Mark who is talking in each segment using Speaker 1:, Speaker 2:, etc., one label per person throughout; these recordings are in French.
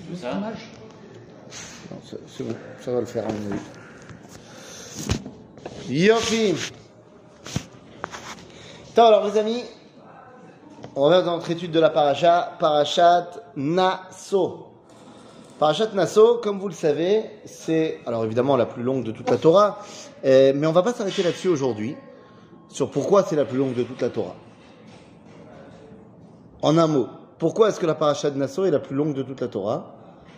Speaker 1: C'est ça?
Speaker 2: Non, c'est bon, ça va le faire à mon avis. Yopi. Alors les amis, on revient dans notre étude de la paracha, Parashat Naso. Parashat Naso, comme vous le savez, c'est alors évidemment la plus longue de toute la Torah, mais on va pas s'arrêter là-dessus aujourd'hui, sur pourquoi c'est la plus longue de toute la Torah. En un mot, pourquoi est-ce que la Parashat Naso est la plus longue de toute la Torah?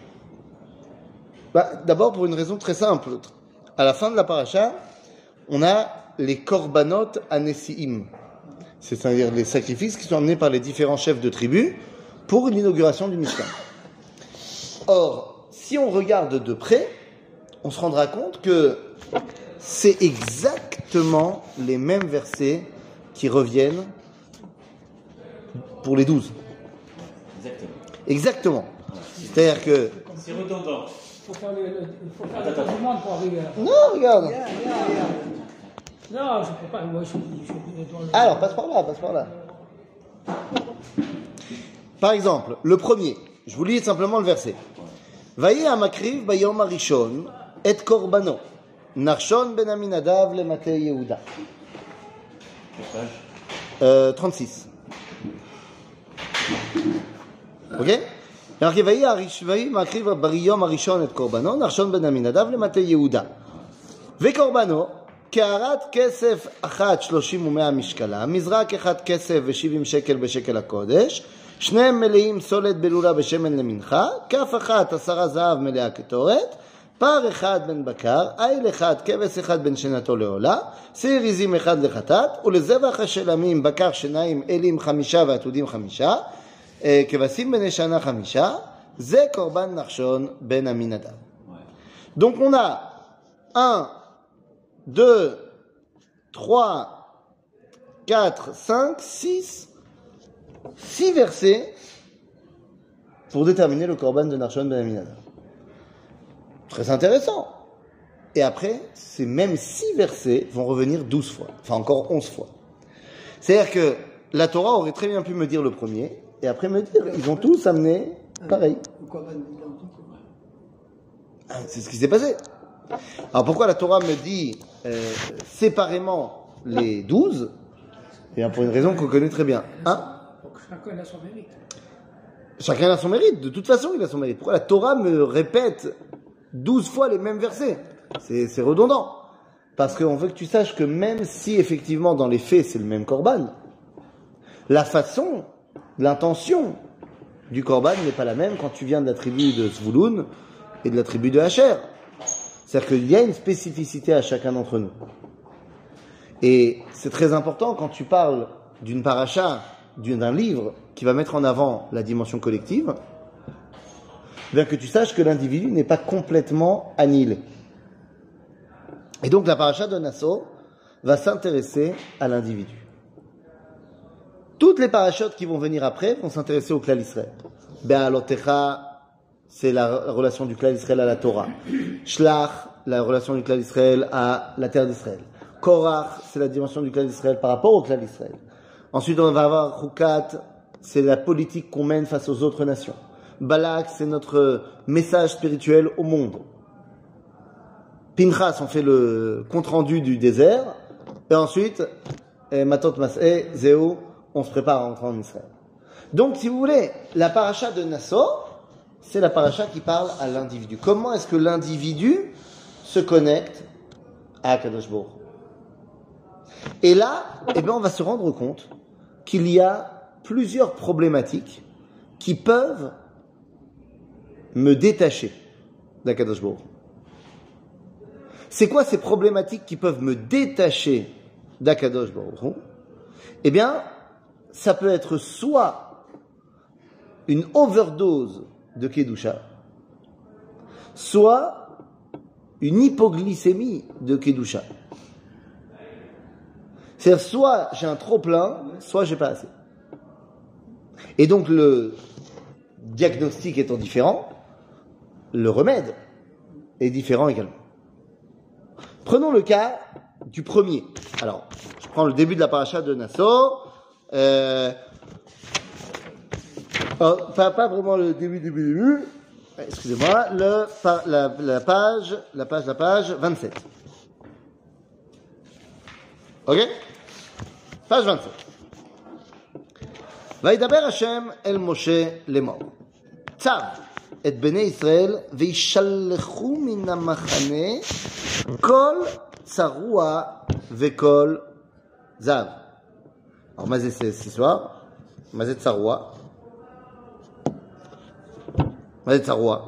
Speaker 2: D'abord pour une raison très simple. À la fin de la paracha, on a les korbanot anesiim, c'est-à-dire les sacrifices qui sont amenés par les différents chefs de tribu pour l'inauguration du Mishkan. Or, si on regarde de près, on se rendra compte que c'est exactement les mêmes versets qui reviennent pour les 12. Exactement. C'est-à-dire que...
Speaker 1: C'est redondant.
Speaker 3: Il faut faire le demande pour arriver là.
Speaker 2: Non, regarde.
Speaker 3: Non, je ne peux pas. Moi, je suis dans le...
Speaker 2: Alors, passe par là. Par exemple, le premier, je vous lis simplement le verset. Vayi amakriv bayom arishon et korbano Nachshon ben Aminadav le Matei Yehuda. 36. Ok? Alors qu'il vayi makriv bayom arishon et korbano Nachshon ben Aminadav le Matei Yehuda. Ve korbano קערת כסף אחת 30 ו100 משקלה, מזרק אחד כסף ו70 שקל בשקל הקודש, שניהם מלאים סולת בלולה בשמן למנחה, כף אחת 10 זהב מלאה קטורת, פר אחד בן בקר, איל אחד, כבש אחד בן שנתו לעולה, שעיר עזים אחד לחטאת, ולזבח השלמים בקר שניים אלים 5 ועתודים 5, כבשים בני שנה 5, זה קורבן נחשון בן עמינדב. Donc on a 1, 2, 3, 4, 5, 6 versets pour déterminer le korban de Nachshon ben Aminadav. Très intéressant. Et après, ces mêmes 6 versets vont revenir 12 fois, enfin encore 11 fois. C'est-à-dire que la Torah aurait très bien pu me dire le premier, et après me dire, ils ont tous amené pareil. C'est ce qui s'est passé. Alors pourquoi la Torah me dit séparément les 12? Eh bien pour une raison qu'on connaît très bien.
Speaker 3: Donc chacun a son mérite.
Speaker 2: Chacun a son mérite, de toute façon il a son mérite. Pourquoi la Torah me répète 12 fois les mêmes versets? C'est redondant. Parce qu'on veut que tu saches que même si effectivement dans les faits c'est le même korban, la façon, l'intention du korban n'est pas la même quand tu viens de la tribu de Zvouloun et de la tribu de Asher. C'est-à-dire qu'il y a une spécificité à chacun d'entre nous. Et c'est très important quand tu parles d'une paracha, d'un livre qui va mettre en avant la dimension collective, bien que tu saches que l'individu n'est pas complètement annihilé. Et donc la paracha de Naso va s'intéresser à l'individu. Toutes les parachutes qui vont venir après vont s'intéresser au klal Israël. Be'alotecha, c'est la relation du klal Israël à la Torah. Shlach, la relation du klal Israël à la terre d'Israël. Korach, c'est la dimension du klal Israël par rapport au klal Israël. Ensuite, on va avoir Chukat, c'est la politique qu'on mène face aux autres nations. Balak, c'est notre message spirituel au monde. Pinchas, on fait le compte-rendu du désert. Et ensuite, Matot Mas'eh, Zéou, on se prépare à rentrer en Israël. Donc, si vous voulez, la paracha de Naso, c'est la paracha qui parle à l'individu. Comment est-ce que l'individu se connecte à Akadosh Baruch Hu? Et là, on va se rendre compte qu'il y a plusieurs problématiques qui peuvent me détacher d'Akadosh Baruch Hu. C'est quoi ces problématiques qui peuvent me détacher d'Akadosh Baruch Hu? Ça peut être soit une overdose de Kedusha, soit une hypoglycémie de Kedusha. C'est-à-dire, soit j'ai un trop-plein, soit j'ai pas assez. Et donc, le diagnostic étant différent, le remède est différent également. Prenons le cas du premier. Alors, je prends le début de la paracha de Naso. Pas vraiment le début. excusez-moi, la page 27. Ok? Page 27. וידבר השם אל משה לאמור. צו את בני ישראל וישלחו מן המחנה כל צרוע וכל זב. Alors, מה זה ce soir? מה זה צרוע? מה זה צרוע?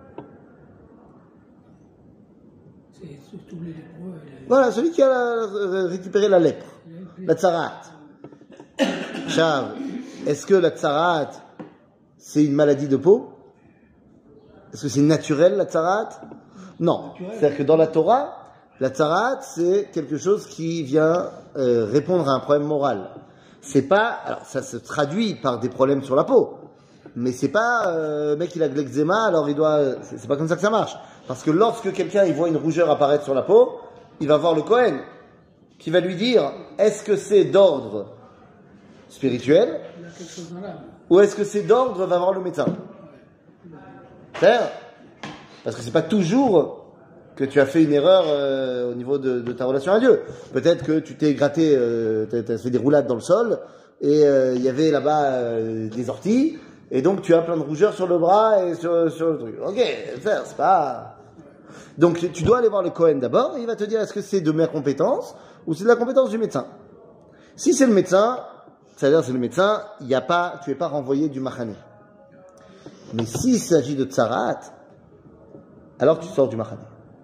Speaker 3: C'est tous les lépreux.
Speaker 2: Voilà, celui qui a récupéré la lèpre, la tsarat. Chav, est-ce que la tsarat, c'est une maladie de peau? Est-ce que c'est naturel, la tsarat? Non. C'est-à-dire que dans la Torah, la tsarat, c'est quelque chose qui vient répondre à un problème moral. C'est pas, alors ça se traduit par des problèmes sur la peau, mais c'est pas, mec il a de l'eczéma, alors il doit, c'est pas comme ça que ça marche. Parce que lorsque quelqu'un il voit une rougeur apparaître sur la peau, il va voir le Kohen, qui va lui dire, est-ce que c'est d'ordre spirituel,
Speaker 3: Il y a quelque chose dans l'âme.
Speaker 2: ou est-ce que c'est d'ordre, va voir le médecin. C'est-à-dire, parce que c'est pas toujours que tu as fait une erreur au niveau de ta relation à Dieu. Peut-être que tu t'es gratté, t'as fait des roulades dans le sol, et il y avait là-bas des orties, et donc tu as plein de rougeurs sur le bras et sur le truc. Ok, c'est pas... Donc tu dois aller voir le Kohen d'abord, et il va te dire est-ce que c'est de ma compétence, ou c'est de la compétence du médecin. Si c'est le médecin, c'est-à-dire c'est le médecin, tu es pas renvoyé du Machané. Mais s'il s'agit de tsarat, alors tu sors du Machané.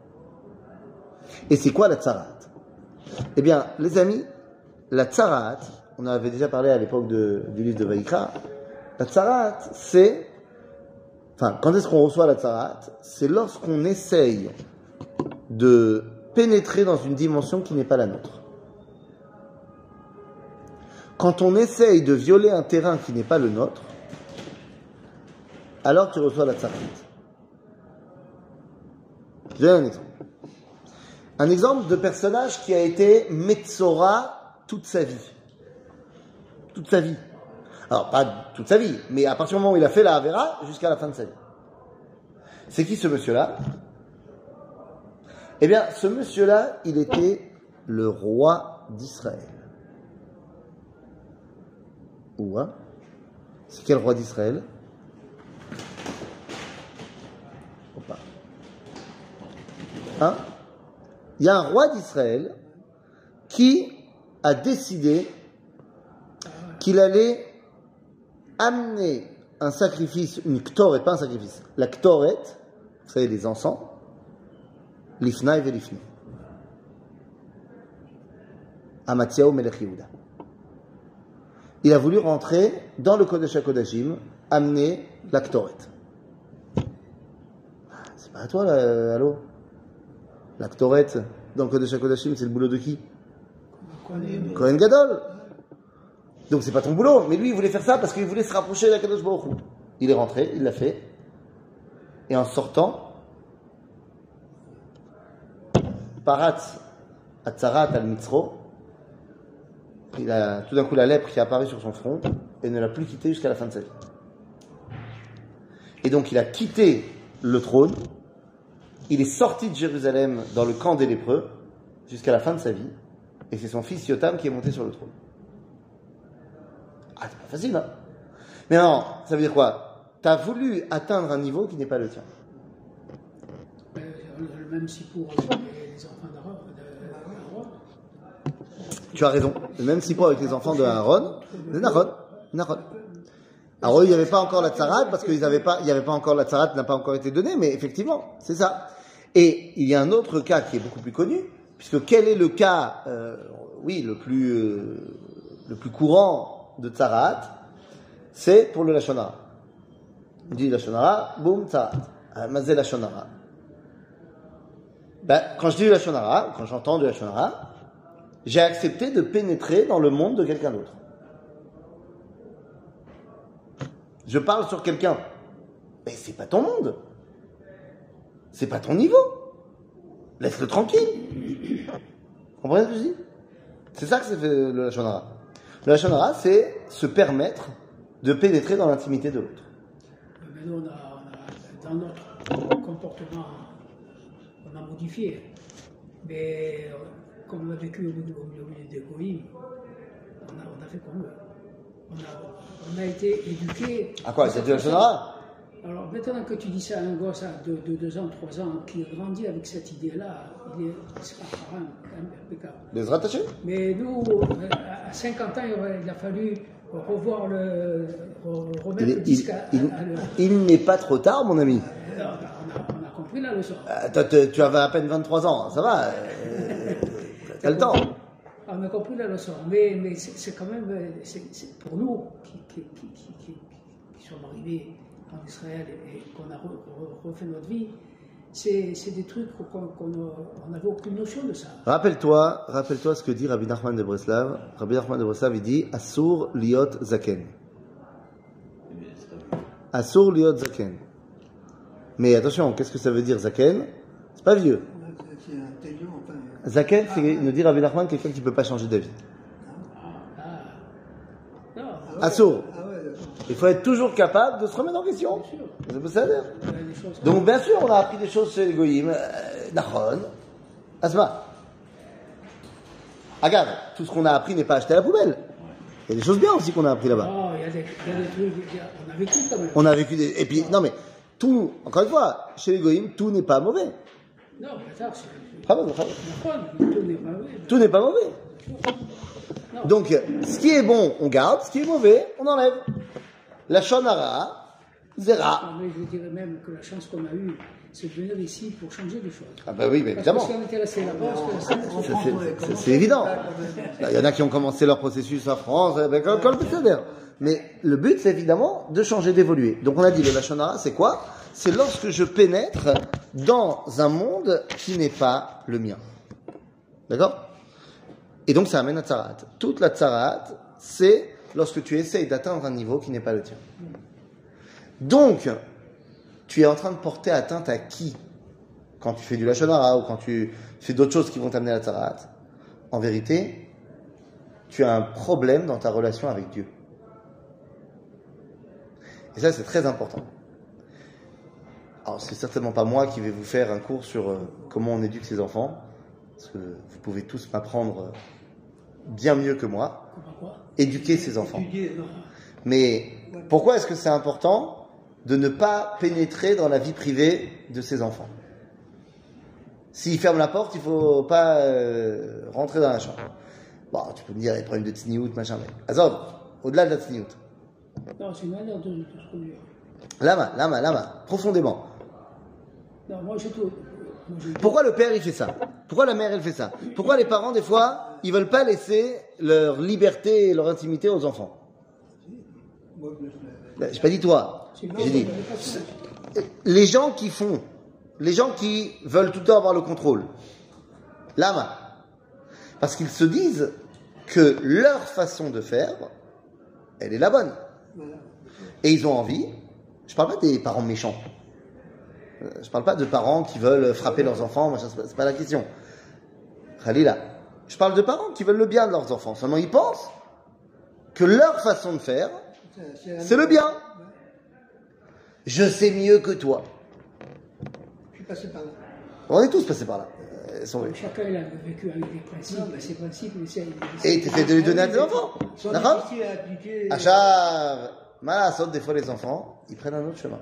Speaker 2: Et c'est quoi la tsarat? Eh bien, les amis, la tsarat, on avait déjà parlé à l'époque du livre de Vaïkra, la tsarat, c'est... Enfin, quand est-ce qu'on reçoit la tsarat? C'est lorsqu'on essaye de pénétrer dans une dimension qui n'est pas la nôtre. Quand on essaye de violer un terrain qui n'est pas le nôtre, alors tu reçois la tsarat. Je donne un exemple. Un exemple de personnage qui a été Metzora toute sa vie. Toute sa vie. Alors, pas toute sa vie, mais à partir du moment où il a fait la Havera, jusqu'à la fin de sa vie. C'est qui ce monsieur-là? Eh bien, ce monsieur-là, il était le roi d'Israël. Ou hein? C'est quel roi d'Israël? Opa. Hein? Il y a un roi d'Israël qui a décidé qu'il allait amener un sacrifice, une ktoret, pas un sacrifice, la ktoret, vous savez, les encens, l'ifnaï et l'ifni. À Mathiaou Melech Yehuda. Il a voulu rentrer dans le Kodesh HaKodashim, amener la ktoret. C'est pas à toi, là, allô? La ktoret, dans le Kodesh HaKodashim, c'est le boulot de qui? Kohen Gadol. Donc c'est pas ton boulot, mais lui il voulait faire ça parce qu'il voulait se rapprocher de la Kadosh Baruch Hu. Il est rentré, il l'a fait, et en sortant, Parat Atzarat al Mitzro, il a tout d'un coup la lèpre qui est apparue sur son front et ne l'a plus quitté jusqu'à la fin de sa vie. Et donc il a quitté le trône, il est sorti de Jérusalem dans le camp des lépreux jusqu'à la fin de sa vie, et c'est son fils Yotam qui est monté sur le trône. Ah, c'est pas facile, hein? Mais non, ça veut dire quoi? T'as voulu atteindre un niveau qui n'est pas le tien.
Speaker 3: Le même si pour les enfants d'Aaron.
Speaker 2: Tu as raison. Le même si pour avec les enfants de Aaron, de Nahon. Alors eux, il n'y avait pas encore la tsarat, parce qu'il n'y avait pas encore la tsarat, n'a pas encore été donnée, mais effectivement, c'est ça. Et il y a un autre cas qui est beaucoup plus connu, puisque quel est le cas, le plus courant de tsarat, c'est pour le Lashon Hara. On dit Lashon Hara, boum, tsarat. Mazé Lashon Hara. Quand je dis Lashon Hara, quand j'entends du Lashon Hara, j'ai accepté de pénétrer dans le monde de quelqu'un d'autre. Je parle sur quelqu'un. Mais c'est pas ton monde. C'est pas ton niveau. Laisse-le tranquille. Vous comprenez ce que je dis? C'est ça que c'est fait le Lashon Hara. Le Lashon Hara, c'est se permettre de pénétrer dans l'intimité de l'autre.
Speaker 3: Mais nous, on a dans notre comportement, on a modifié. Mais comme on a vécu au milieu des goïms, on a fait comme eux. On a été éduqués.
Speaker 2: À quoi? C'est de la Shonara?
Speaker 3: Alors maintenant que tu dis ça à un gosse de 2 ans, 3 ans, qui grandit avec cette idée-là, c'est pas parent, impeccable.
Speaker 2: Les rattachés?
Speaker 3: Mais nous, à 50 ans, il a fallu remettre le disque à l'heure.
Speaker 2: Il n'est pas trop tard, mon ami.
Speaker 3: Alors, on a compris la leçon.
Speaker 2: Toi, tu avais à peine 23 ans, ça va. T'as le temps.
Speaker 3: On a compris la leçon, mais c'est quand même, c'est pour nous qui sommes arrivés en Israël et qu'on a refait notre vie, c'est des trucs qu'on n'avait aucune notion de ça.
Speaker 2: Rappelle-toi ce que dit Rabbi Nachman de Breslav. Rabbi Nachman de Breslav, il dit Asur liot zaken. Asur liot zaken. Mais attention, qu'est-ce que ça veut dire zaken? C'est pas vieux. Zaken, c'est, nous dit Rabbi Nachman, quelqu'un qui ne peut pas changer d'avis. Asur. Il faut être toujours capable de se remettre en question. C'est pas ça dire. Donc, bien sûr, on a appris des choses chez les Goïm. Nachon. Asma. Agave, tout ce qu'on a appris n'est pas acheté à la poubelle. Il y a des choses bien aussi qu'on a appris là-bas.
Speaker 3: Oh, il y a des trucs, on a vécu quand même.
Speaker 2: On a vécu des. Et puis, non mais, tout, encore une fois, chez les Goïm, tout n'est pas mauvais.
Speaker 3: Non, mais ça, c'est.
Speaker 2: Bravo.
Speaker 3: Tout n'est pas mauvais.
Speaker 2: Tout n'est pas mauvais.
Speaker 3: Non.
Speaker 2: Donc, ce qui est bon, on garde, ce qui est mauvais, on enlève. La shonara, zera.
Speaker 3: Non, mais je dirais même que la chance qu'on a eue, c'est de venir ici pour changer des choses.
Speaker 2: Ah bah oui, mais évidemment.
Speaker 3: Parce que si on était resté là-bas,
Speaker 2: C'est évident. Il y en a qui ont commencé leur processus en France, comme le Pesséder. Mais le but, c'est évidemment de changer, d'évoluer. Donc on a dit, le Lashonara, c'est quoi? C'est lorsque je pénètre dans un monde qui n'est pas le mien. D'accord? Et donc ça amène à Tzarat. Toute la Tzarat, c'est lorsque tu essayes d'atteindre un niveau qui n'est pas le tien. Donc, tu es en train de porter atteinte à qui? Quand tu fais du Lashonara ou quand tu fais d'autres choses qui vont t'amener à la Tzarat. En vérité, tu as un problème dans ta relation avec Dieu. Et ça, c'est très important. Alors, c'est certainement pas moi qui vais vous faire un cours sur comment on éduque ses enfants, parce que vous pouvez tous m'apprendre bien mieux que moi. Éduquer ses enfants. Mais pourquoi est-ce que c'est important de ne pas pénétrer dans la vie privée de ses enfants? S'ils ferment la porte, il ne faut pas rentrer dans la chambre. Bon, tu peux me dire, il y a des problèmes de tsniout, machin, mais Azov, au-delà de la tsniout.
Speaker 3: Non, c'est une manière de se conduire.
Speaker 2: Lama, profondément.
Speaker 3: Non, moi, j'ai tout.
Speaker 2: Pourquoi le père, il fait ça? Pourquoi la mère, elle fait ça? Pourquoi les parents, des fois, ils veulent pas laisser leur liberté et leur intimité aux enfants? J'ai pas dit toi. J'ai dit les gens qui veulent tout le temps avoir le contrôle. Lama. Parce qu'ils se disent que leur façon de faire, elle est la bonne. Et ils ont envie. Je parle pas des parents méchants. Je parle pas de parents qui veulent frapper leurs enfants, machin, c'est pas la question. Khalila. Je parle de parents qui veulent le bien de leurs enfants. Seulement ils pensent que leur façon de faire, c'est le bien. Je sais mieux que toi.
Speaker 3: Je suis passé par là.
Speaker 2: On est tous passés par là.
Speaker 3: Chacun il a vécu avec des principes, ces principes,
Speaker 2: et tu essaies de les donner à tes enfants. D'accord? Achav, Malasot, des fois les enfants, ils prennent un autre chemin.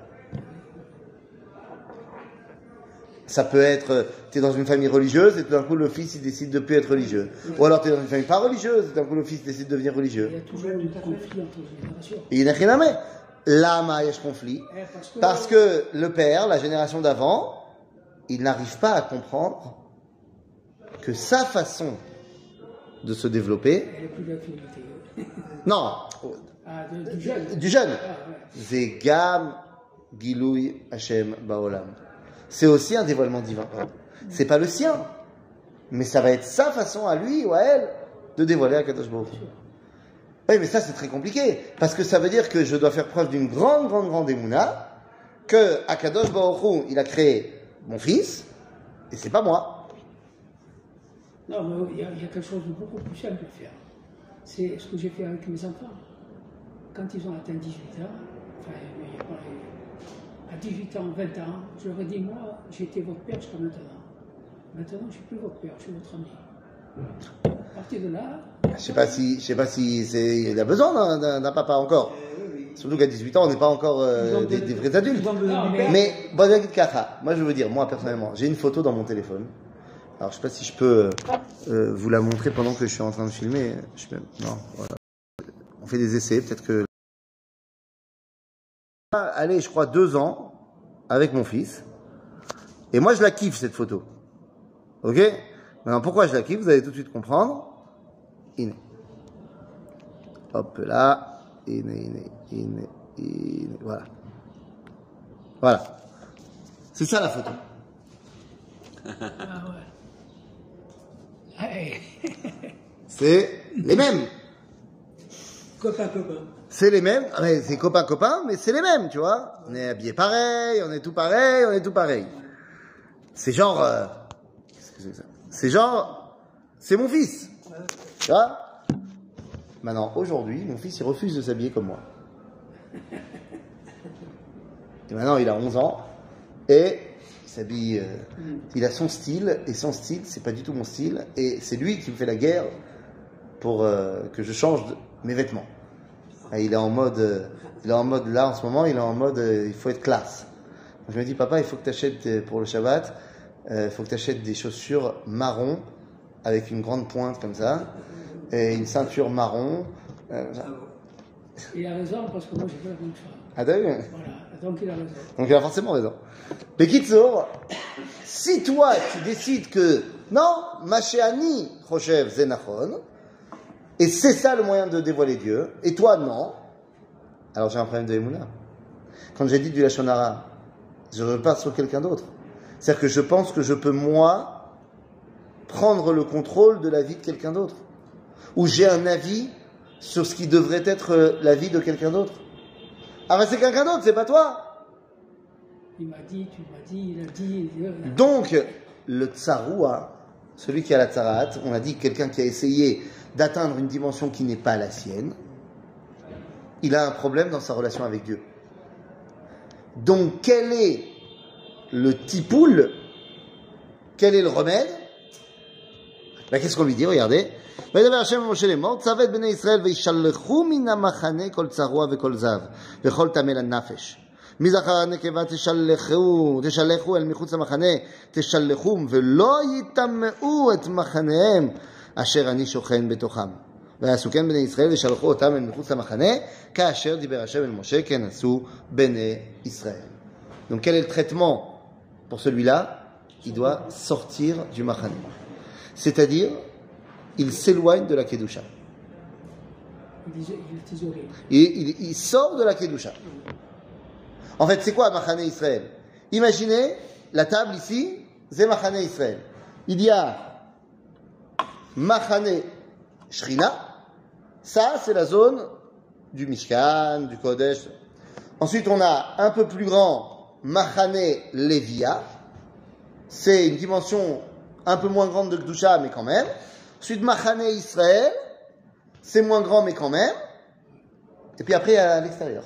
Speaker 2: Ça peut être, tu es dans une famille religieuse et tout d'un coup le fils il décide de plus être religieux. Ou alors tu es dans une famille pas religieuse et tout d'un coup le fils décide de devenir religieux.
Speaker 3: Il y a toujours eu un conflit entre les générations.
Speaker 2: Et il n'y a rien à mettre. Là, il y a ce conflit. Parce que le père, la génération d'avant, il n'arrive pas à comprendre que sa façon de se développer.
Speaker 3: Il n'y a plus d'activité.
Speaker 2: Non.
Speaker 3: Ah, du jeune.
Speaker 2: Du jeune.
Speaker 3: Ah, ouais.
Speaker 2: Zegam Gilouy Hashem Baolam. C'est aussi un dévoilement divin. C'est pas le sien. Mais ça va être sa façon à lui ou à elle de dévoiler Akadosh Baruch Hu. Oui, mais ça c'est très compliqué. Parce que ça veut dire que je dois faire preuve d'une grande émouna, que Akadosh Baruch Hu, il a créé mon fils, et c'est pas moi.
Speaker 3: Non, mais il y a quelque chose de beaucoup plus simple à faire. C'est ce que j'ai fait avec mes enfants. Quand ils ont atteint 18 ans, enfin, il y a pas à 18 ans, 20 ans, j'aurais dit, moi, j'étais votre père jusqu'à maintenant. Maintenant, je ne suis plus votre père, je suis votre ami. À partir de là...
Speaker 2: Je sais pas si il a besoin d'un papa encore. Surtout qu'à 18 ans, on n'est pas encore des vrais adultes.
Speaker 3: Non,
Speaker 2: Mais, bon, moi je veux dire, moi personnellement, j'ai une photo dans mon téléphone. Alors je sais pas si je peux vous la montrer pendant que je suis en train de filmer. Non, voilà. On fait des essais, peut-être que... Allez, je crois 2 ans avec mon fils. Et moi je la kiffe cette photo. Ok? Maintenant pourquoi je la kiffe, vous allez tout de suite comprendre. Iné. Hop là. Iné. Voilà. Voilà. C'est ça la photo.
Speaker 3: Ah ouais. Hey.
Speaker 2: C'est les mêmes.
Speaker 3: Copain.
Speaker 2: C'est les mêmes. Ah, mais c'est copain, mais c'est les mêmes, tu vois. On est habillés pareil, on est tout pareil. C'est genre... qu'est-ce que c'est que ça? C'est genre... C'est mon fils. Tu vois? Maintenant, aujourd'hui, mon fils, il refuse de s'habiller comme moi. Et maintenant, il a 11 ans. Et il s'habille... il a son style. Et son style, c'est pas du tout mon style. Et c'est lui qui me fait la guerre pour que je change mes vêtements. Et il est en mode... là, en ce moment, il est en mode... il faut être classe. Donc, je me dis, papa, il faut que tu achètes pour le Shabbat... il faut que tu achètes des chaussures marron avec une grande pointe comme ça et une ceinture marron.
Speaker 3: Il a raison parce que moi j'ai fait la même chose.
Speaker 2: Ah t'as vu?
Speaker 3: Voilà, donc il a raison.
Speaker 2: Donc il a forcément raison. Mais Kitsour, si toi tu décides que non, Mashéani Choshev Zenachon, et c'est ça le moyen de dévoiler Dieu, et toi non, alors j'ai un problème de Emouna. Quand j'ai dit du Lashon Hara, je repars sur quelqu'un d'autre. C'est-à-dire que je pense que je peux, moi, prendre le contrôle de la vie de quelqu'un d'autre. Ou j'ai un avis sur ce qui devrait être la vie de quelqu'un d'autre. Ah ben c'est quelqu'un d'autre, c'est pas toi.
Speaker 3: Il m'a dit, il a dit...
Speaker 2: Donc, le tsaroua, celui qui a la tsaraat, on a dit quelqu'un qui a essayé d'atteindre une dimension qui n'est pas la sienne, il a un problème dans sa relation avec Dieu. Donc, quel est le tipoul, quel est le remède? Ben, qu'est-ce qu'on lui dit? Regardez. וידבר השם אל משה לאמור, צווה את בני ישראל וישלחו מן המחנה כל צרוע וכל זב וכל טמא לנפש. מזכר נקבה תשלחו אל מחוץ למחנה, תשלחום ולא יטמאו את מחניהם אשר אני שוכן בתוכם. ויעשו כן בני ישראל וישלחו אותם אל מחוץ למחנה, כאשר דיבר השם אל משה כן עשו בני ישראל. Donc quel est le traitement pour celui-là? Il doit sortir du machane. C'est-à-dire, il s'éloigne de la Kedusha. Il sort de la Kedusha. En fait, c'est quoi Machane Israël? Imaginez la table ici, c'est Machane Israël. Il y a Machane Shrina, ça c'est la zone du Mishkan, du Kodesh. Ensuite, on a un peu plus grand Machane Levia, c'est une dimension un peu moins grande de Kedusha, mais quand même. Ensuite, Machane Israël, c'est moins grand, mais quand même. Et puis après, à l'extérieur.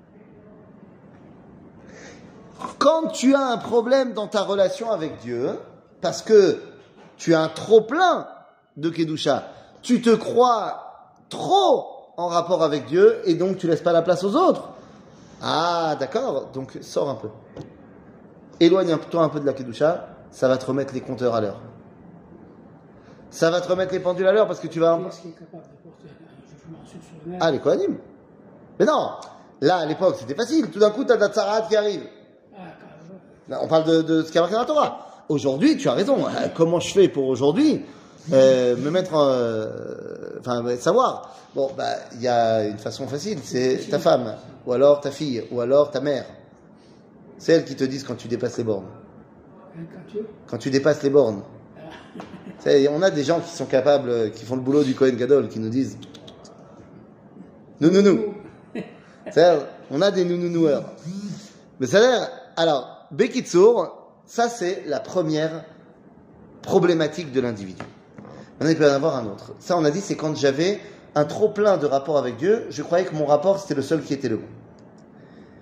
Speaker 2: Quand tu as un problème dans ta relation avec Dieu, parce que tu as un trop-plein de Kedusha, tu te crois trop en rapport avec Dieu, et donc tu laisses pas la place aux autres. Ah, d'accord, donc sors un peu. Éloigne-toi un peu de la Kedusha, ça va te remettre les compteurs à l'heure. Ça va te remettre les pendules à l'heure parce que tu vas...
Speaker 3: Qui est capable de porter un jugement sur soi-même?
Speaker 2: Ah, les Kohanim. Mais non, là, à l'époque, c'était facile. Tout d'un coup, tu as Datsarat qui arrive. Là, on parle de ce qu'il y a marqué dans la Torah. Aujourd'hui, tu as raison. Comment je fais pour aujourd'hui me mettre... savoir. Bon, il y a une façon facile. C'est ta femme, ou alors ta fille, ou alors ta mère. C'est elles qui te disent quand tu dépasses les bornes. Quand tu dépasses les bornes. On a des gens qui sont capables, qui font le boulot du Kohen Gadol, qui nous disent nounou. On a des nounounoueurs. Mais ça a l'air. Alors, Bekitsour, ça c'est la première problématique de l'individu. Maintenant, il peut y en avoir un autre. Ça, on a dit, c'est quand j'avais un trop plein de rapports avec Dieu, je croyais que mon rapport c'était le seul qui était le bon.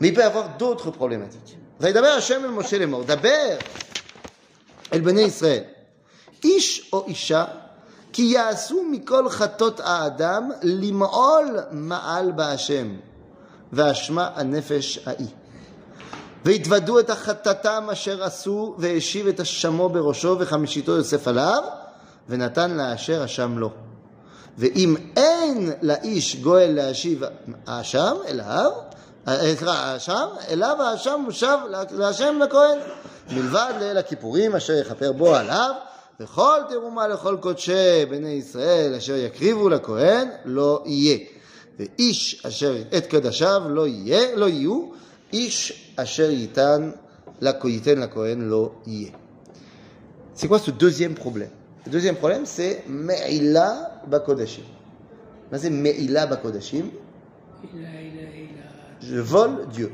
Speaker 2: Mais il peut y avoir d'autres problématiques. וידבר השם אל משה לאמור, דבר אל בני ישראל, איש או אישה, כי יעשו מכל חטות האדם למעול מעל בהשם, ואשמה הנפש ההיא. והתוודו את החטאתם אשר עשו, והשיב את אשמו בראשו, וחמישיתו יוסף עליו, ונתן לאשר אשם לו. ואם אין לאיש גואל להשיב האשם אליו, אליו האשם מושב להשם לכהן, מלבד ליל הכיפורים אשר יכפר בו עליו, וכל תרומה לכל קודשי בני ישראל אשר יקריבו לכהן לא יהיה. ואיש אשר את קדשיו לא יהיו, איש אשר ייתן לכהן לא יהיה. C'est quoi ce deuxième problème? Le deuxième problème, c'est Me'ila Bakodashim. C'est Me'ila Bakodashim. Je vole Dieu.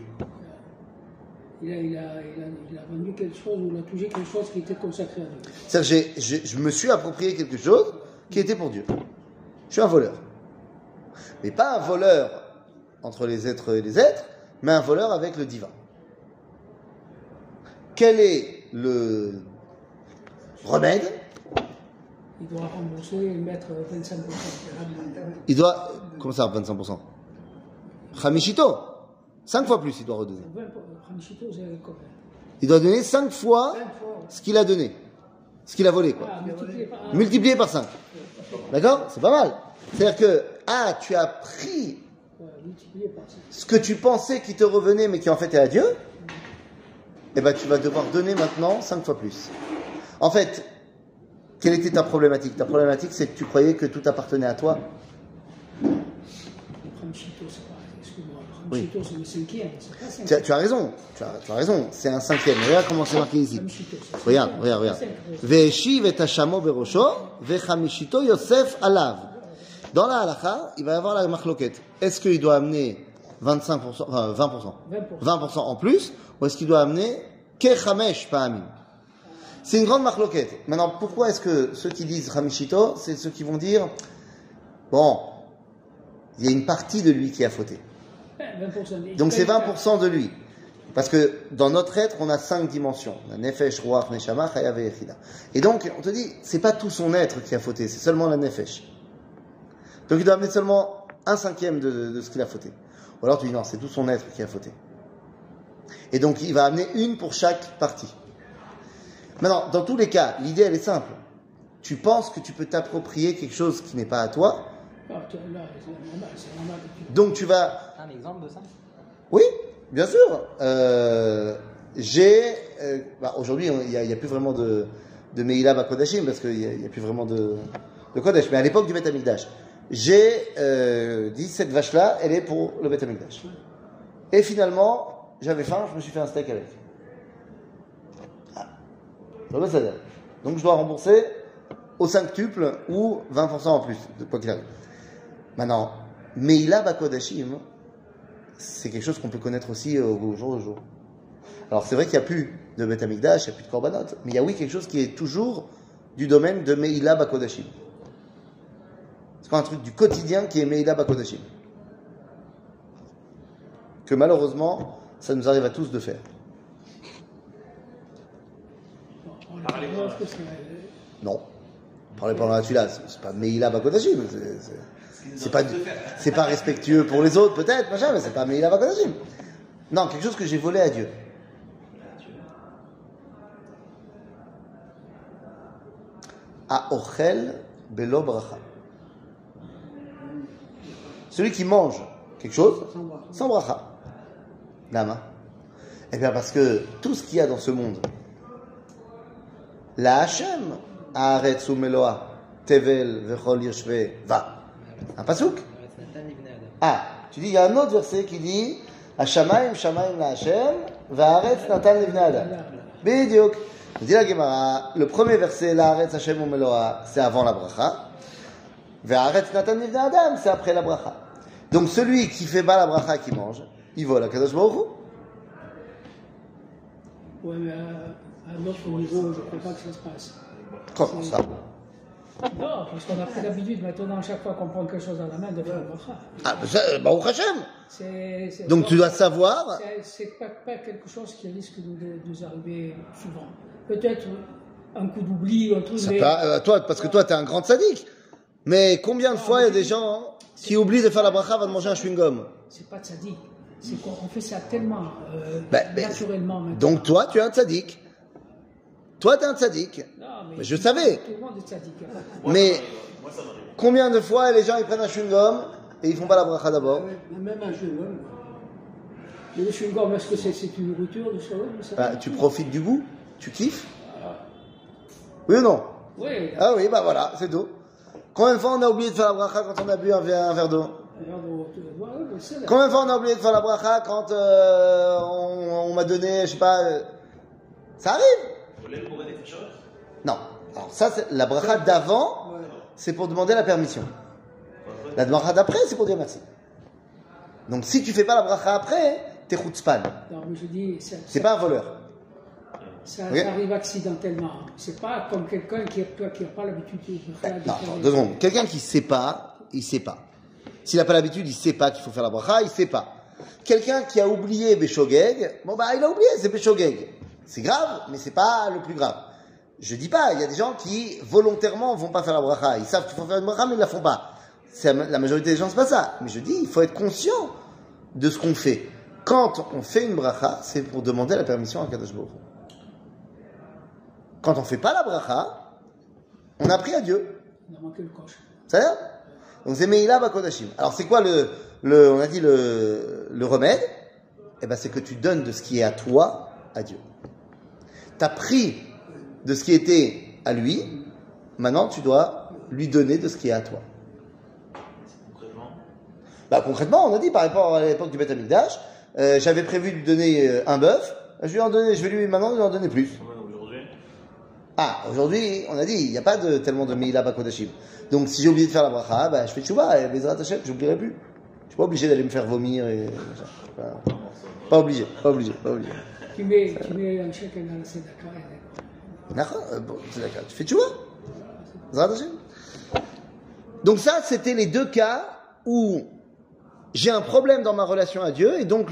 Speaker 3: Il a vendu quelque chose ou il a touché quelque chose qui était consacré à Dieu.
Speaker 2: C'est-à-dire je me suis approprié quelque chose qui était pour Dieu. Je suis un voleur. Mais pas un voleur entre les êtres et les êtres, mais un voleur avec le divin. Quel est le remède?
Speaker 3: Il doit rembourser et mettre 25%.
Speaker 2: Il doit... Comment ça, 25%? Chamishito. 5 fois plus, il doit redonner.
Speaker 3: Chamishito, c'est combien?
Speaker 2: Il doit donner 5 fois ce qu'il a donné. Ce qu'il a volé, quoi. Multiplié par 5. D'accord? C'est pas mal. C'est-à-dire que, tu as pris ce que tu pensais qui te revenait, mais qui en fait est à Dieu, eh ben, tu vas devoir donner maintenant 5 fois plus. En fait, quelle était ta problématique? Ta problématique, c'est que tu croyais que tout appartenait à toi. Oui. Tu as raison. Tu as raison. C'est un cinquième. Regarde comment c'est marqué ici. Regarde. Ve'eshiv et hashamo berosho, ve'chamishito Yosef alav. Dans la halakha, il va y avoir la machloket. Est-ce qu'il doit amener 25%, enfin 20% en plus, ou est-ce qu'il doit amener kechamesh pa'amim? C'est une grande machloket. Maintenant, pourquoi est-ce que ceux qui disent Chamishito, c'est ceux qui vont dire, bon, il y a une partie de lui qui a fauté. Donc c'est 20% de lui. Parce que dans notre être, on a 5 dimensions. La nefesh, ruach, neshama, chayav et yechida. Et donc, on te dit, c'est pas tout son être qui a fauté, c'est seulement la nefesh. Donc il doit amener seulement 1/5 de ce qu'il a fauté. Ou alors tu dis, non, c'est tout son être qui a fauté. Et donc il va amener une pour chaque partie. Maintenant, dans tous les cas, l'idée elle est simple. Tu penses que tu peux t'approprier quelque chose qui n'est pas à toi. Donc tu vas...
Speaker 1: Un exemple de ça?
Speaker 2: Oui, bien sûr. Aujourd'hui, il n'y a plus vraiment de Meila Bakodashim parce qu'il n'y a plus vraiment de Kodesh. Mais à l'époque du Beth Amikdash, j'ai dit cette vache-là, elle est pour le Beth Amikdash. Et finalement, j'avais faim, je me suis fait un steak avec. Donc je dois rembourser au 5tuple ou 20% en plus, de quoi qu'il arrive. Maintenant, Meila Bakodashim, c'est quelque chose qu'on peut connaître aussi au jour le jour. Alors c'est vrai qu'il n'y a plus de Beth Amikdash, il n'y a plus de Korbanot, mais il y a quelque chose qui est toujours du domaine de Meila Bakodashim. C'est quoi un truc du quotidien qui est Meila Bakodashim, que malheureusement, ça nous arrive à tous de faire. Non. Parler pendant la tula, c'est pas Meila Bakodashim. C'est pas respectueux pour les autres, peut-être, machin, mais c'est pas Meila Bakodashim. Non, quelque chose que j'ai volé à Dieu. A ochel belo bracha. Celui qui mange quelque chose sans bracha. Lama. Eh bien, parce que tout ce qu'il y a dans ce monde, la Hashem, Haaretz umeloa, Tevel vechol yeshve va. Un pasouk. Tu dis, il y a un autre verset qui dit Hashamayim shamayim la Hashem, v'Haaretz natan livnei adam. Bidyuk. Dit la Gemara, le premier verset, la Haaretz Hashem umeloa, c'est avant la bracha. V'Haaretz natan livnei adam, c'est après la bracha. Donc celui qui fait pas la bracha, qui mange, il vole à Kadosh Baruch Hu.
Speaker 3: Ouais, mais à un autre niveau, je ne crois pas que ça se passe.
Speaker 2: Comment ça?
Speaker 3: Non, parce qu'on a pris l'habitude maintenant, à chaque fois qu'on prend quelque chose dans la main, de faire le bracha.
Speaker 2: Ah, ça, Baruch Hashem. Donc
Speaker 3: bon,
Speaker 2: tu dois savoir.
Speaker 3: C'est pas quelque chose qui risque de nous arriver souvent. Peut-être un coup d'oubli, un truc, mais...
Speaker 2: Toi, parce que toi, t'es un grand sadique. Mais combien de fois il y a des gens qui oublient de faire la bracha avant de manger un chewing-gum?
Speaker 3: C'est pas tzaddik. C'est qu'on fait ça tellement naturellement. Maintenant.
Speaker 2: Donc toi, tu es un tzaddik. Toi, t'es un tzaddik.
Speaker 3: Non,
Speaker 2: mais je savais.
Speaker 3: Tout le monde est tzaddik.
Speaker 2: Mais combien de fois les gens ils prennent un chewing-gum et ils font pas la bracha d'abord?
Speaker 3: Même un chewing-gum. Le chewing-gum, est-ce que c'est une nourriture du chewing-gum?
Speaker 2: Tu profites du goût? Tu kiffes? Oui ou non?
Speaker 3: Oui.
Speaker 2: Ah oui, bah voilà, c'est tout. Combien de fois on a oublié de faire la bracha quand on a bu un verre d'eau? Combien de fois on a oublié de faire la bracha quand on m'a donné, je sais pas... Ça arrive? Non. Alors ça, c'est la bracha d'avant, c'est pour demander la permission. La bracha d'après, c'est pour dire merci. Donc si tu fais pas la bracha après, t'es chutzpan.
Speaker 3: Non, mais je dis...
Speaker 2: C'est pas un voleur.
Speaker 3: Ça arrive accidentellement. C'est pas comme quelqu'un qui n'a pas l'habitude de faire.
Speaker 2: Non, 2 secondes. Quelqu'un qui sait pas, il sait pas. S'il n'a pas l'habitude, il sait pas qu'il faut faire la bracha, il sait pas. Quelqu'un qui a oublié Béchogeg, bon bah il a oublié, c'est Béchogeg. C'est grave, mais c'est pas le plus grave. Je dis pas, il y a des gens qui volontairement vont pas faire la bracha. Ils savent qu'il faut faire une bracha, mais ils la font pas. La majorité des gens, c'est pas ça. Mais je dis, il faut être conscient de ce qu'on fait. Quand on fait une bracha, c'est pour demander la permission à Kadosh Baruch Hu. Quand on fait pas la bracha, on a pris à Dieu.
Speaker 3: On a manqué le coche.
Speaker 2: Ça va? Donc c'est Meila Bakodashim. Alors c'est quoi on a dit le remède? Eh ben c'est que tu donnes de ce qui est à toi à Dieu. T'as pris de ce qui était à lui, maintenant tu dois lui donner de ce qui est à toi. Concrètement, on a dit par rapport à l'époque du Beth Amikdash, j'avais prévu de lui donner un bœuf, je vais lui en donner plus. Aujourd'hui, on a dit, il n'y a pas tellement de Meila Bakodashim. Donc, si j'ai oublié de faire la bracha, je fais tchouba, et Bezrat Hashem, j'oublierai plus. Je suis pas obligé d'aller me faire vomir et... Pas obligé.
Speaker 3: Tu mets un chèque dans la Sedaka.
Speaker 2: D'accord, c'est d'accord. Tu fais tchouba. Bezrat Hashem. Donc ça, c'était les 2 cas où j'ai un problème dans ma relation à Dieu, et donc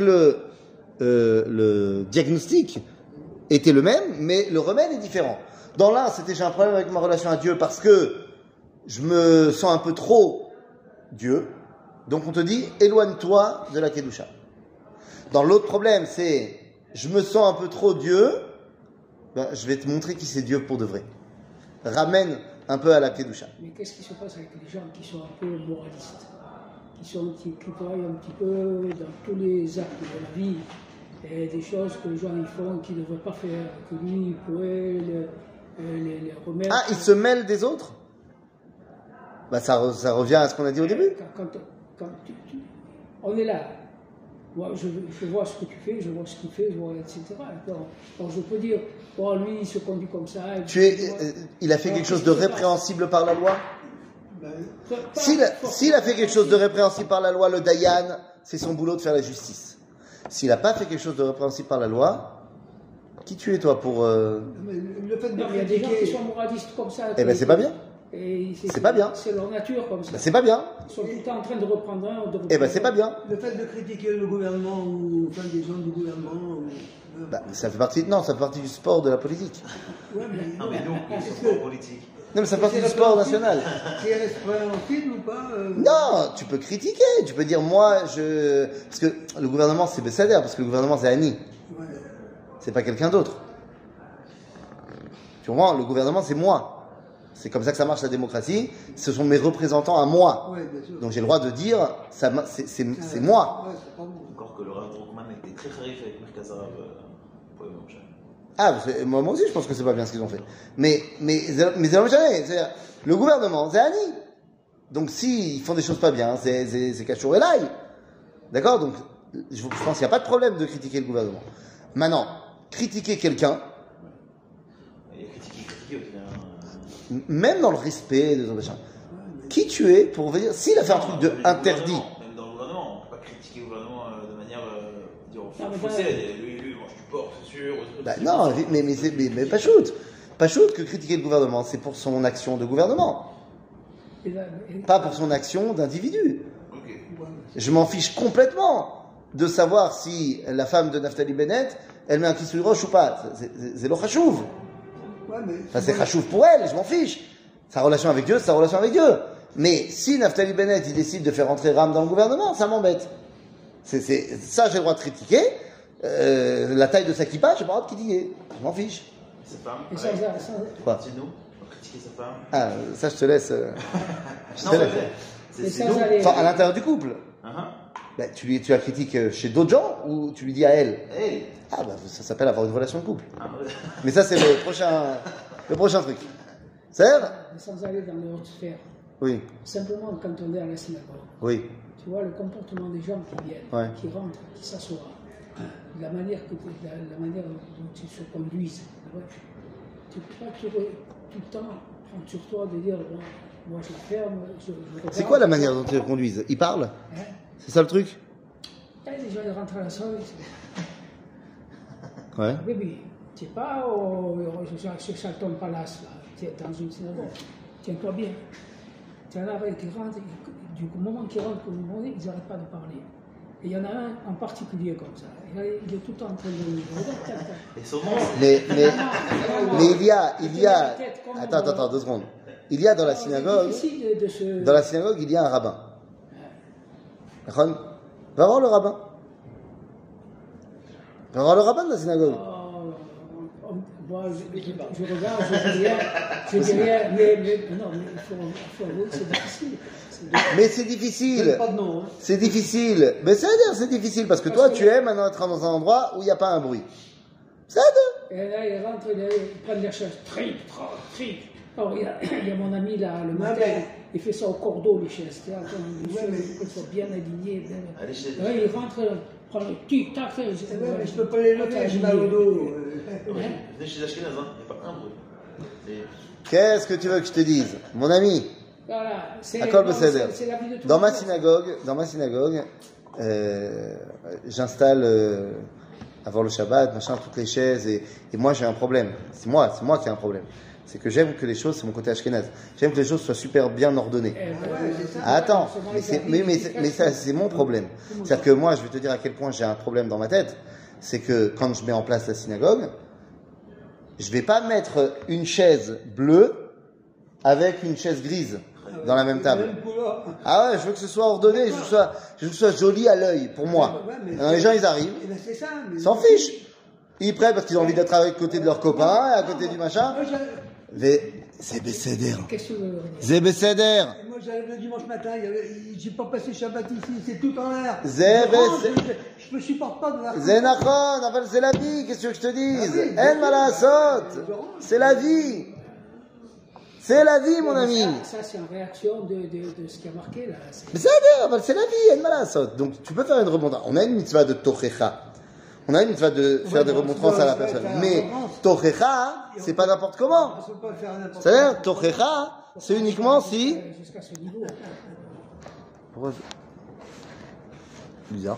Speaker 2: le diagnostic était le même, mais le remède est différent. Dans l'un, c'était j'ai un problème avec ma relation à Dieu parce que je me sens un peu trop Dieu. Donc on te dit, éloigne-toi de la Kedusha. Dans l'autre problème, c'est je me sens un peu trop Dieu, je vais te montrer qui c'est Dieu pour de vrai. Ramène un peu à la Kedusha.
Speaker 3: Mais qu'est-ce qui se passe avec les gens qui sont un peu moralistes, qui croient un petit peu dans tous les actes de la vie, et des choses que les gens ils font qu'ils ne devraient pas faire, que lui il pourrait les remettre.
Speaker 2: Ah, ils se mêlent des autres? Ça revient à ce qu'on a dit au début.
Speaker 3: Quand on est là. Moi, je vois ce que tu fais, je vois ce qu'il fait, je vois, etc. Donc je peux dire, lui, il se conduit comme ça.
Speaker 2: Il a fait quelque chose de répréhensible par la loi? S'il a fait quelque chose de répréhensible par la loi, le Dayan, c'est son boulot de faire la justice. S'il n'a pas fait quelque chose de répréhensible par la loi, qui tu es toi pour...
Speaker 3: Le fait de il y a des gens qui sont moralistes comme ça.
Speaker 2: Eh ben c'est pas bien.
Speaker 3: C'est
Speaker 2: pas bien.
Speaker 3: C'est leur nature comme ça.
Speaker 2: C'est pas bien.
Speaker 3: Ils sont tout le temps en train de reprendre un.
Speaker 2: Eh ben c'est pas bien.
Speaker 1: Le fait de critiquer le gouvernement ou des gens du gouvernement.
Speaker 2: Ça fait partie. Non, ça fait partie du sport de la politique.
Speaker 1: Ouais,
Speaker 4: non mais nous, c'est sport politique.
Speaker 2: Non mais ça fait partie du sport national.
Speaker 1: C'est répréhensible ou pas
Speaker 2: Non, tu peux critiquer. Tu peux dire parce que le gouvernement c'est Bessader, parce que le gouvernement c'est Annie.
Speaker 1: Ouais.
Speaker 2: C'est pas quelqu'un d'autre. Tu comprends? Le gouvernement c'est moi. C'est comme ça que ça marche la démocratie. Ce sont mes représentants à moi.
Speaker 1: Ouais, bien sûr.
Speaker 2: Donc j'ai le droit de dire, c'est moi.
Speaker 1: Ouais, c'est pas bon.
Speaker 4: Encore que le Rav Druckmann était très kharif avec Merkaz Arabe pour le Moshe.
Speaker 2: Moi aussi je pense que c'est pas bien ce qu'ils ont fait. Mais c'est pas jamais. Le gouvernement, c'est Annie. Donc s'ils font des choses pas bien, c'est Kachour et l'ail. D'accord? Donc je pense qu'il n'y a pas de problème de critiquer le gouvernement. Maintenant, critiquer quelqu'un, même dans le respect des autres, qui tu es pour venir, s'il a fait un truc de interdit.
Speaker 4: Même dans le gouvernement, on ne peut pas critiquer le gouvernement de manière faussée. Lui, mange du porc, c'est sûr.
Speaker 2: Non, mais pas shoot. Pas shoot que critiquer le gouvernement, c'est pour son action de gouvernement. Pas pour son action d'individu.
Speaker 4: Ok.
Speaker 2: Je m'en fiche complètement de savoir si la femme de Naftali Bennett, elle met un kissouille roche ou pas. C'est le chachouv.
Speaker 1: Ouais, mais
Speaker 2: Enfin, c'est chachouv pour elle, je m'en fiche. Sa relation avec Dieu, c'est sa relation avec Dieu. Mais si Naftali Bennett, il décide de faire rentrer Ram dans le gouvernement, ça m'embête. Ça, j'ai le droit de critiquer. La taille de sa kippa, j'ai pas le droit de critiquer. Je m'en fiche.
Speaker 4: Sa femme,
Speaker 3: Et
Speaker 4: pareil.
Speaker 2: Quoi?
Speaker 4: C'est nous, on critiquer sa femme.
Speaker 2: Ah, ça, je te laisse. Je
Speaker 4: Non,
Speaker 2: te laisse.
Speaker 3: Mais
Speaker 4: c'est
Speaker 3: sans
Speaker 4: nous.
Speaker 3: aller-
Speaker 2: Enfin, à l'intérieur du couple.
Speaker 4: Uh-huh.
Speaker 2: Ben, tu la critiques chez d'autres gens ou tu lui dis à elle?
Speaker 4: Hey.
Speaker 2: Ah, bah, ça s'appelle avoir une relation de couple.
Speaker 4: Ah, ouais.
Speaker 2: Mais ça, c'est le prochain truc. C'est vrai?
Speaker 3: Mais sans aller dans les hautes sphères.
Speaker 2: Oui,
Speaker 3: Simplement, quand on est à la synagogue,
Speaker 2: oui,
Speaker 3: tu vois le comportement des gens qui viennent,
Speaker 2: Ouais.
Speaker 3: qui rentrent, qui s'assoient, la manière dont ils se conduisent. Ouais. Tu peux pas tout le temps prendre sur toi de dire bon, moi je ferme, je regarde.
Speaker 2: c'est quoi la manière dont ils conduisent? Ils parlent?
Speaker 3: Hein?
Speaker 2: C'est ça le truc?
Speaker 3: Et les gens ils rentrent à la salle,
Speaker 2: Ouais.
Speaker 3: bébé, tu n'es pas sur Charlton Palace, là. Tu es dans une synagogue, tiens-toi bien. Tu en as qui rentrent, du moment qu'ils rentrent, ils n'arrêtent pas de parler. Et il y en a un en particulier comme ça. Il est tout le temps en train de...
Speaker 4: Et son nom,
Speaker 2: Mais il y a, attends, 2 secondes. Il y a dans la synagogue, il y a un rabbin. Va voir le rabbin. Va voir le rabbin de la synagogue.
Speaker 3: Moi, je regarde, je dis rien, mais non, mais il faut avouer que c'est difficile.
Speaker 2: Mais c'est difficile.
Speaker 1: c'est pas de nom. Hein.
Speaker 2: C'est difficile. Mais c'est difficile parce que toi, tu aimes être dans un endroit où il n'y a pas un bruit. C'est
Speaker 3: Et là, ils rentrent, ils prennent les chaises, tric. Alors, il y a mon ami là, le matin, il fait ça au cordeau, les chaises. Tu vois, qu'elles soient bien alignées.
Speaker 4: allez chez
Speaker 3: Ouais, il rentre, prend le tic-tac.
Speaker 1: Ouais, mais je peux pas les lever, j'ai mal au dos.
Speaker 4: Venez chez Ashkenaz, hein. Il n'y a pas un bruit. Et-
Speaker 2: Qu'est-ce que tu veux que je te dise, mon ami?
Speaker 3: Voilà, c'est
Speaker 2: Akol
Speaker 3: non,
Speaker 2: Beseder.
Speaker 3: c'est la vie de tout
Speaker 2: Dans
Speaker 3: le
Speaker 2: ma
Speaker 3: monde.
Speaker 2: synagogue, j'installe avant le Shabbat, machin, toutes les chaises, et moi j'ai un problème. C'est moi qui ai un problème. C'est que j'aime que les choses, c'est mon côté ashkénaze. J'aime que les choses soient super bien ordonnées. Attends, mais ça, c'est mon problème. C'est-à-dire que moi, je vais te dire à quel point j'ai un problème dans ma tête. C'est que quand je mets en place la synagogue, je vais pas mettre une chaise bleue avec une chaise grise dans la même table. Ah ouais, je veux que ce soit ordonné, je veux que ce soit joli à l'œil, pour moi. Alors, les gens, ils arrivent, ils s'en fichent. Ils prennent parce qu'ils ont envie d'être à côté de leurs copains, à côté du machin. C'est Besséder.
Speaker 3: Qu'est-ce que tu veux dire?
Speaker 2: C'est Besséder.
Speaker 1: Moi j'arrive le dimanche matin, j'ai pas passé Shabbat ici, c'est tout en l'air. Je me supporte pas de voir.
Speaker 2: Zenachon, c'est la vie, qu'est-ce que je te dise? En malasot. C'est la vie. C'est la vie, mon ami.
Speaker 3: Ça, c'est en réaction de ce qui a marqué là.
Speaker 2: Besséder, c'est la vie, en malasot. Donc tu peux faire une remontrance. On a une mitzvah de tochecha. On a une mitzvah de faire des remontrances à la personne. Mais tochecha, c'est pas n'importe comment. C'est-à-dire, tochecha, c'est uniquement si...
Speaker 3: Jusqu'à ce niveau.
Speaker 2: Pourquoi bizarre.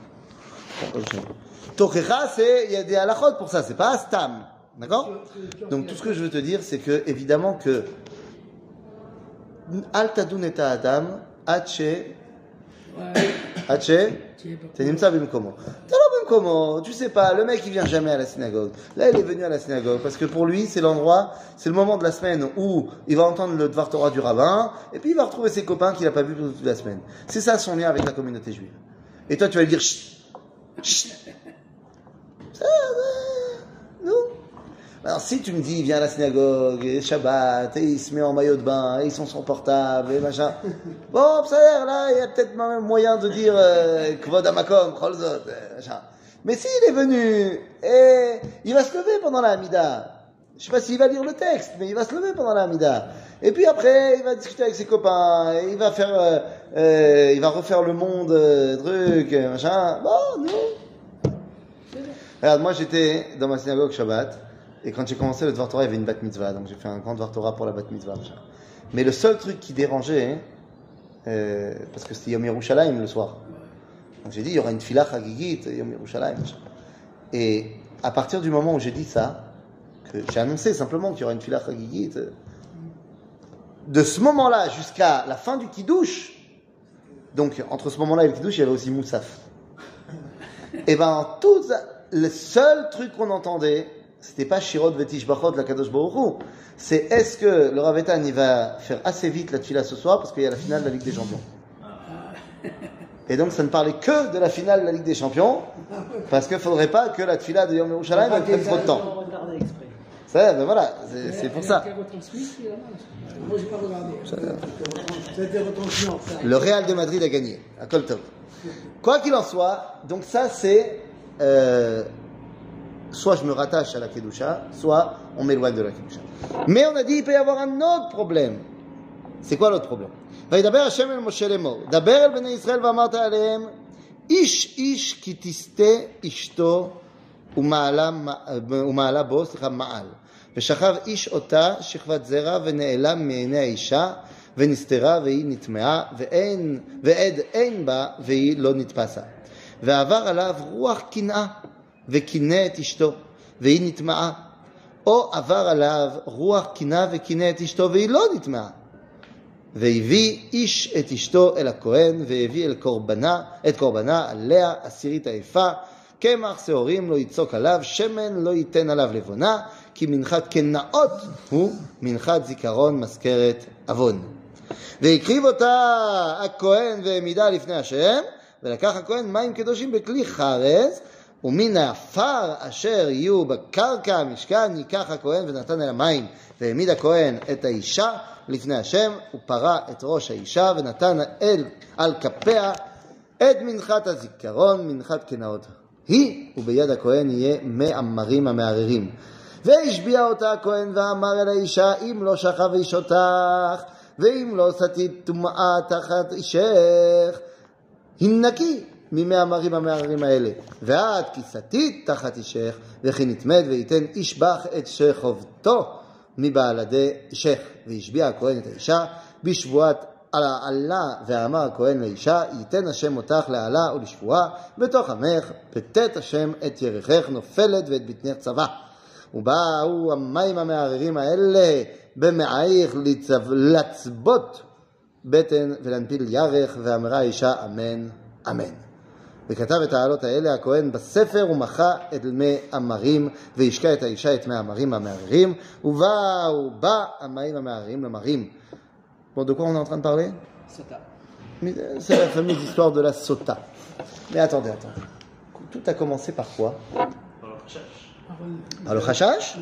Speaker 2: Tochecha, il y a des halachot pour ça, c'est pas astam. D'accord? Donc tout ce que je veux te dire, c'est que, évidemment que Al tadun et adam, Hache, c'est Nimsa Bimkomo. Comment? Tu sais pas, le mec il vient jamais à la synagogue. Là il est venu à la synagogue parce que pour lui c'est l'endroit, c'est le moment de la semaine où il va entendre le Dvar Torah du rabbin et puis il va retrouver ses copains qu'il a pas vus toute la semaine. C'est ça son lien avec la communauté juive. Et toi tu vas lui dire chut, chut. Ça, non. Alors si tu me dis viens à la synagogue, et Shabbat, et il se met en maillot de bain, et ils sont sur portable, et machin. Bon, ça a l'air là, il y a peut-être même moyen de dire Kvod Amakom, Cholzot, machin. Mais s'il est venu, et il va se lever pendant la Hamida. Je sais pas s'il va lire le texte, mais il va se lever pendant la Hamida. Et puis après, il va discuter avec ses copains, et il va faire, il va refaire le monde, truc, machin. Bon, non. Regarde, moi j'étais dans ma synagogue Shabbat, et quand j'ai commencé le Dvar Torah, il y avait une bat mitzvah, donc j'ai fait un grand Dvar Torah pour la bat mitzvah, machin. Mais le seul truc qui dérangeait, parce que c'était Yom Yerushalayim le soir. Donc j'ai dit, il y aura une tefila chagigit, Yom Yerushalayim. Et à partir du moment où j'ai dit ça, que j'ai annoncé simplement qu'il y aura une tefila chagigit, de ce moment-là jusqu'à la fin du Kiddush, donc entre ce moment-là et le Kiddush, il y avait aussi Moussaf. Et ben, tout le seul truc qu'on entendait, c'était pas Shirot Vetish Bachot la Kadosh Baruch Hu. C'est est-ce que le Rav Eitan il va faire assez vite la tefila ce soir parce qu'il y a la finale de la Ligue des Champions. Et donc ça ne parlait que de la finale de la Ligue des Champions parce qu'il ne faudrait pas que la tefila de Yom Yerushalayim prenne trop de temps. Ça, ben voilà, c'est pour ça.
Speaker 3: Moi, j'ai pas regardé.
Speaker 1: C'était retransmis.
Speaker 2: Le Real de Madrid a gagné à Colton. Quoi qu'il en soit, donc ça c'est soit je me rattache à la Kedusha, soit on m'éloigne de la Kedusha. Mais on a dit il peut y avoir un autre problème. C'est quoi l'autre problème? וידבר השם אל משה לאמור, דבר אל בני ישראל ואמרת עליהם, איש איש כי תסטה אשתו ומעלה בו, מעל. ושכב איש אותה שכבת זרע ונעלם מעיני האישה ונסתרה והיא נטמעה ועד אין בה והיא לא נתפסה. ועבר עליו רוח קנאה וקינא את אשתו והיא נטמעה. או עבר עליו רוח קנאה וקינא את אשתו והיא לא נטמעה. והביא איש את אשתו אל הכהן והביא את קורבנה עליה עשירית היפה קמח שעורים לא יצוק עליו שמן לא ייתן עליו לבונה כי מנחת קנאות הוא מנחת זיכרון מזכרת עוון. והקריב אותה הכהן והעמידה לפני השם ולקח הכהן מים קדושים בכלי חרס ומן העפר אשר יהיו בקרקע המשכן ייקח הכהן ונתן אל המים והעמיד הכהן את האישה לפני השם ופרה את ראש האישה ונתן על כפיה את מנחת הזיכרון מנחת קנאות היא וביד הכהן יהיה מי אמרים המערערים והשביע אותה הכהן ואמר אל האישה אם לא שכב איש אותך ואם לא סטית טומאה תחת אישך הנקי ממי אמרים המערערים האלה ואת כי סטית תחת אישך וכי נטמאת וייתן איש בך את שחובתו מבעלדי אישך והשביע הכהן את האישה בשבועת עלה ואמר הכהן לאישה ייתן השם אותך לעלה ולשבועה בתוך עמך פתת השם את ירכך נופלת ואת בטנך צבא ובאו המים המערערים האלה במעייך לצבות בטן ולהנפיל ירך ואמרה האישה אמן אמן וכתב את העלות האלה הכהן בספר ומחה את מי אמרים והשקע את האישה את מי אמרים המערערים ובא המים המערערים למרים. Bon, de quoi on est en train de parler?
Speaker 3: Sota.
Speaker 2: C'est la fameuse histoire de la sota. Mais attendez. Tout a commencé par quoi? Par le chashash.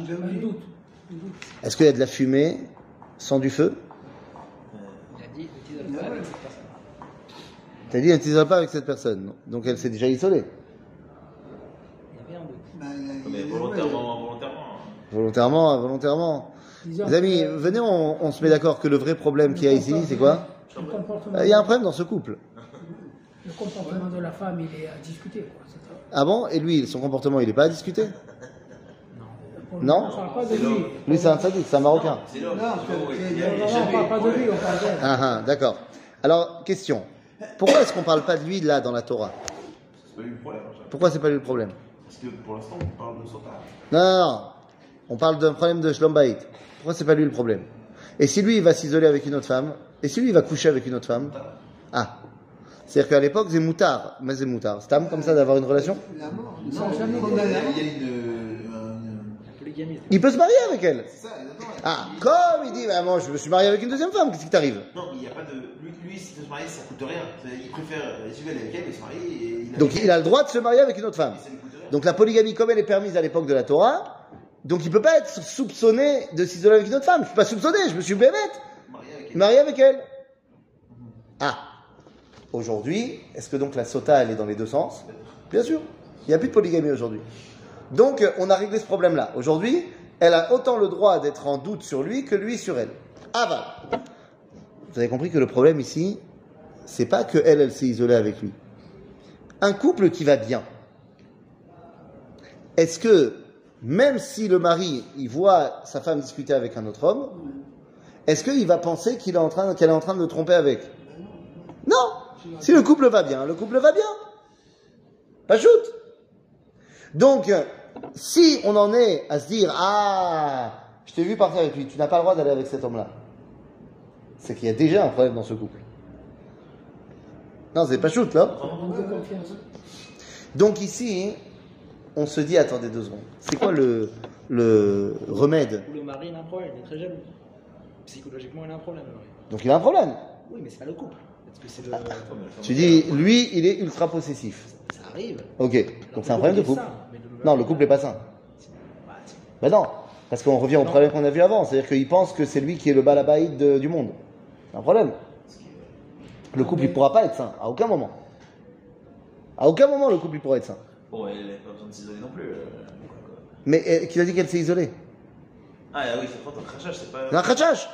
Speaker 2: Est-ce qu'il y a de la fumée sans du feu? T'as dit, elle ne t'isole pas avec cette personne. Donc elle s'est déjà isolée.
Speaker 4: Mais volontairement.
Speaker 2: Volontairement. Les amis, venez, on se met d'accord que le vrai problème qu'il y a ici, c'est quoi? Il y a un problème dans ce couple.
Speaker 3: Le comportement de la femme, il est à discuter. Quoi.
Speaker 2: Ah bon? Et lui, son comportement, il n'est pas à discuter? Non?
Speaker 3: On ne parle pas de lui.
Speaker 2: Lui, c'est un sadique, c'est un Marocain.
Speaker 4: C'est l'homme.
Speaker 3: Non, on ne parle pas de lui, on parle d'elle.
Speaker 2: Ah, d'accord. Alors, question. Pourquoi est-ce qu'on ne parle pas de lui, là, dans la Torah?
Speaker 4: C'est pas lui le problème.
Speaker 2: Pourquoi c'est pas lui le problème?
Speaker 4: Parce que pour l'instant, on parle de Sota.
Speaker 2: Non. On parle d'un problème de Shlom Bayit. Pourquoi c'est pas lui le problème? Et si lui, il va s'isoler avec une autre femme? Et si lui, il va coucher avec une autre femme? Ah. C'est-à-dire qu'à l'époque, c'est moutard. Mais c'est moutard. C'est comme ça d'avoir une relation?
Speaker 1: La mort.
Speaker 4: Il y a une
Speaker 3: polygamie.
Speaker 2: Il peut se marier avec elle.
Speaker 4: C'est ça, exactement.
Speaker 2: Ah, comme il dit, bah, moi, je me suis marié avec une deuxième femme. Qu'est-ce qui t'arrive?
Speaker 4: Non, mais il n'y a pas de. Lui, si tu se marie, ça coûte rien. Il préfère suivre avec elle et se marier. Et
Speaker 2: Donc, il a le droit de se marier avec une autre femme.
Speaker 4: ça lui coûte rien.
Speaker 2: Donc, la polygamie, comme elle est permise à l'époque de la Torah, donc il peut pas être soupçonné de s'isoler avec une autre femme. Je suis pas soupçonné, je me suis bémette. Marié avec elle. Ah. Aujourd'hui, est-ce que donc la sota, elle est dans les deux sens? Bien sûr. Il n'y a plus de polygamie aujourd'hui. Donc, on a réglé ce problème-là. Aujourd'hui, elle a autant le droit d'être en doute sur lui que lui sur elle. Ah bah. Vous avez compris que le problème ici, c'est pas que elle s'est isolée avec lui. Un couple qui va bien. Est-ce que, même si le mari, il voit sa femme discuter avec un autre homme, est-ce qu'il va penser qu'elle est en train de le tromper avec? Non. Si le couple va bien, le couple va bien. Pas shoot. Donc, si on en est à se dire, ah, je t'ai vu partir avec lui, tu n'as pas le droit d'aller avec cet homme-là. c'est qu'il y a déjà un problème dans ce couple. Non, c'est pas shoot, là. Donc ici, on se dit, attendez 2 secondes. C'est quoi le remède?
Speaker 5: Le mari, il a un problème, il est très jaloux. Psychologiquement, il a un problème.
Speaker 2: Donc il a un problème.
Speaker 5: Oui, mais c'est pas le couple. Parce que c'est le...
Speaker 2: Tu dis, lui, il est ultra possessif.
Speaker 5: Ça arrive.
Speaker 2: Ok, donc c'est un problème de couple. Non, le couple n'est pas sain. Ben non, parce qu'on revient au problème qu'on a vu avant. C'est-à-dire qu'il pense que c'est lui qui est le balabaïd du monde. C'est un problème. Le couple, il ne pourra pas être sain, à aucun moment. À aucun moment, le couple, il pourra être sain.
Speaker 4: Bon, elle n'a pas besoin de s'isoler non plus.
Speaker 2: Mais qui a dit qu'elle s'est isolée?
Speaker 4: Ah oui, c'est trop un crachage, c'est pas...
Speaker 2: Un crachage.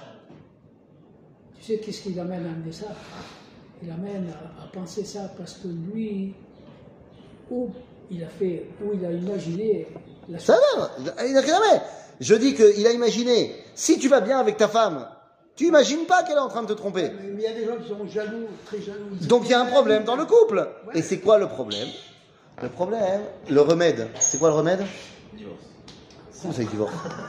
Speaker 3: Tu sais qu'est-ce qui l'amène à amener ça? Il amène à penser ça parce que lui, où il a imaginé la chose.
Speaker 2: Ça va, il n'a jamais. Je dis qu'il a imaginé, si tu vas bien avec ta femme, tu imagines pas qu'elle est en train de te tromper.
Speaker 1: Mais il y a des gens qui sont jaloux, très jaloux.
Speaker 2: Donc il y a un problème dans le couple. Et c'est quoi le problème? Le problème, le remède. C'est quoi le remède?
Speaker 4: Divorce.
Speaker 2: Comment c'est le divorce?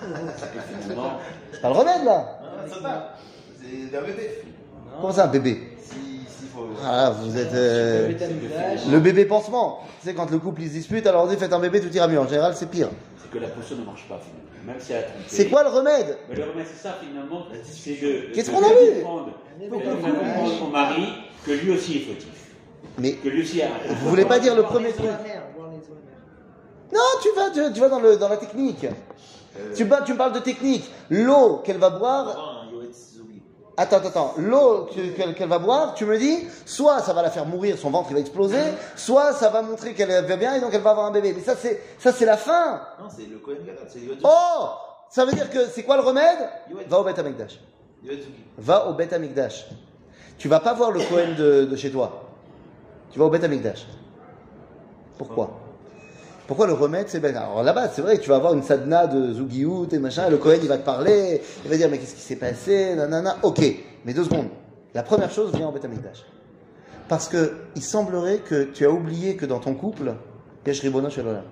Speaker 2: C'est pas le remède là.
Speaker 4: Ça va. C'est un bébé.
Speaker 2: Comment ça un bébé?
Speaker 4: S'il faut...
Speaker 2: Ah, vous êtes le bébé pansement. Tu sais, quand le couple ils se dispute, alors on dit faites un bébé, tout ira mieux. En général, c'est pire.
Speaker 6: C'est que la potion ne marche pas, finalement. Même si elle a trompé.
Speaker 2: C'est quoi le remède?
Speaker 6: Mais le remède, c'est ça, finalement. C'est de.
Speaker 2: Qu'est-ce qu'on a vu?
Speaker 6: Comprendre son mari que lui aussi est fautif.
Speaker 2: Mais
Speaker 6: que lui aussi a.
Speaker 2: vous voulez pas dire le premier truc? Non, tu vas dans la technique. Tu me parles de technique. L'eau qu'elle va boire. Attends. L'eau qu'elle va boire, tu me dis, soit ça va la faire mourir, son ventre il va exploser, soit ça va montrer qu'elle va bien et donc elle va avoir un bébé. Mais ça c'est la fin.
Speaker 4: Non, c'est le Kohen Gadol, c'est Yoetzuki.
Speaker 2: Oh, ça veut dire que c'est quoi le remède? Va au Beth Amikdash.
Speaker 4: Yoetzuki.
Speaker 2: Va au Beth Amikdash. Tu vas pas voir le Kohen de chez toi. Tu vas au Beth Amikdash. Pourquoi? Pourquoi le remède c'est bien? Alors là-bas, c'est vrai que tu vas avoir une sadhana de Zugiout et machin, et le Kohen il va te parler, il va dire mais qu'est-ce qui s'est passé, nanana. Ok, mais 2 secondes. La première chose, viens au Beth Amikdash. Parce que il semblerait que tu as oublié que dans ton couple, il y a Shribono Shel Olam.